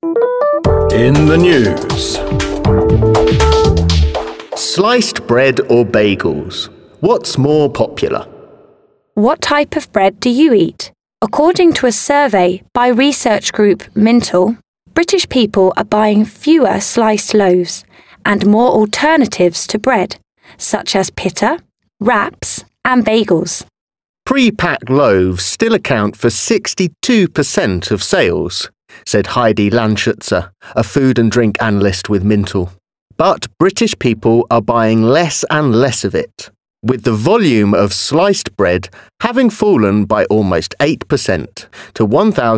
In the news. Sliced bread or bagels? What's more popular? What type of bread do you eat? According to a survey by research group Mintel, British people are buying fewer sliced loaves and more alternatives to bread, such as pita, wraps and bagels. Pre-packed loaves still account for 62% of sales, said Heidi Landschutzer, a food and drink analyst with Mintel. But British people are buying less and less of it, with the volume of sliced bread having fallen by almost 8% to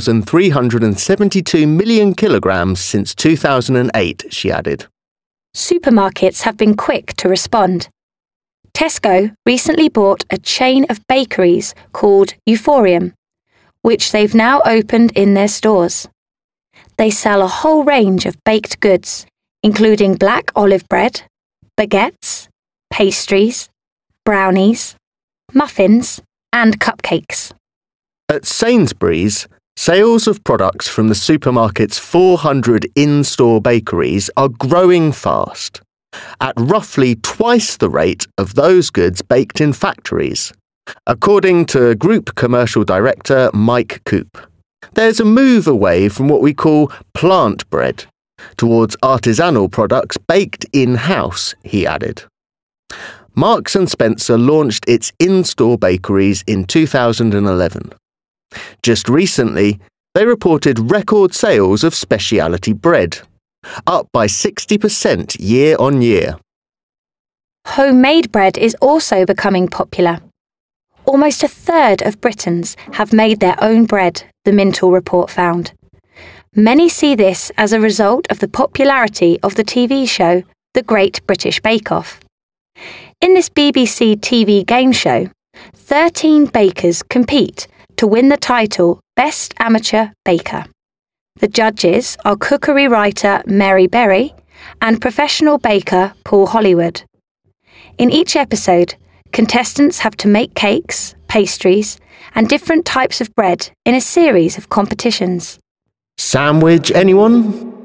1,372 million kilograms since 2008, she added. Supermarkets have been quick to respond. Tesco recently bought a chain of bakeries called Euphorium, which they've now opened in their stores. They sell a whole range of baked goods, including black olive bread, baguettes, pastries, brownies, muffins, and cupcakes. At Sainsbury's, sales of products from the supermarket's 400 in-store bakeries are growing fast, at roughly twice the rate of those goods baked in factories, according to Group Commercial Director Mike Coop. There's a move away from what we call plant bread towards artisanal products baked in-house, he added. Marks & Spencer launched its in-store bakeries in 2011. Just recently, they reported record sales of specialty bread, up by 60% year on year. Homemade bread is also becoming popular. Almost a third of Britons have made their own bread, the Mintel report found. Many see this as a result of the popularity of the TV show The Great British Bake Off. In this BBC TV game show, 13 bakers compete to win the title Best Amateur Baker. The judges are cookery writer Mary Berry and professional baker Paul Hollywood. In each episode, contestants have to make cakes, pastries, and different types of bread in a series of competitions. Sandwich, anyone?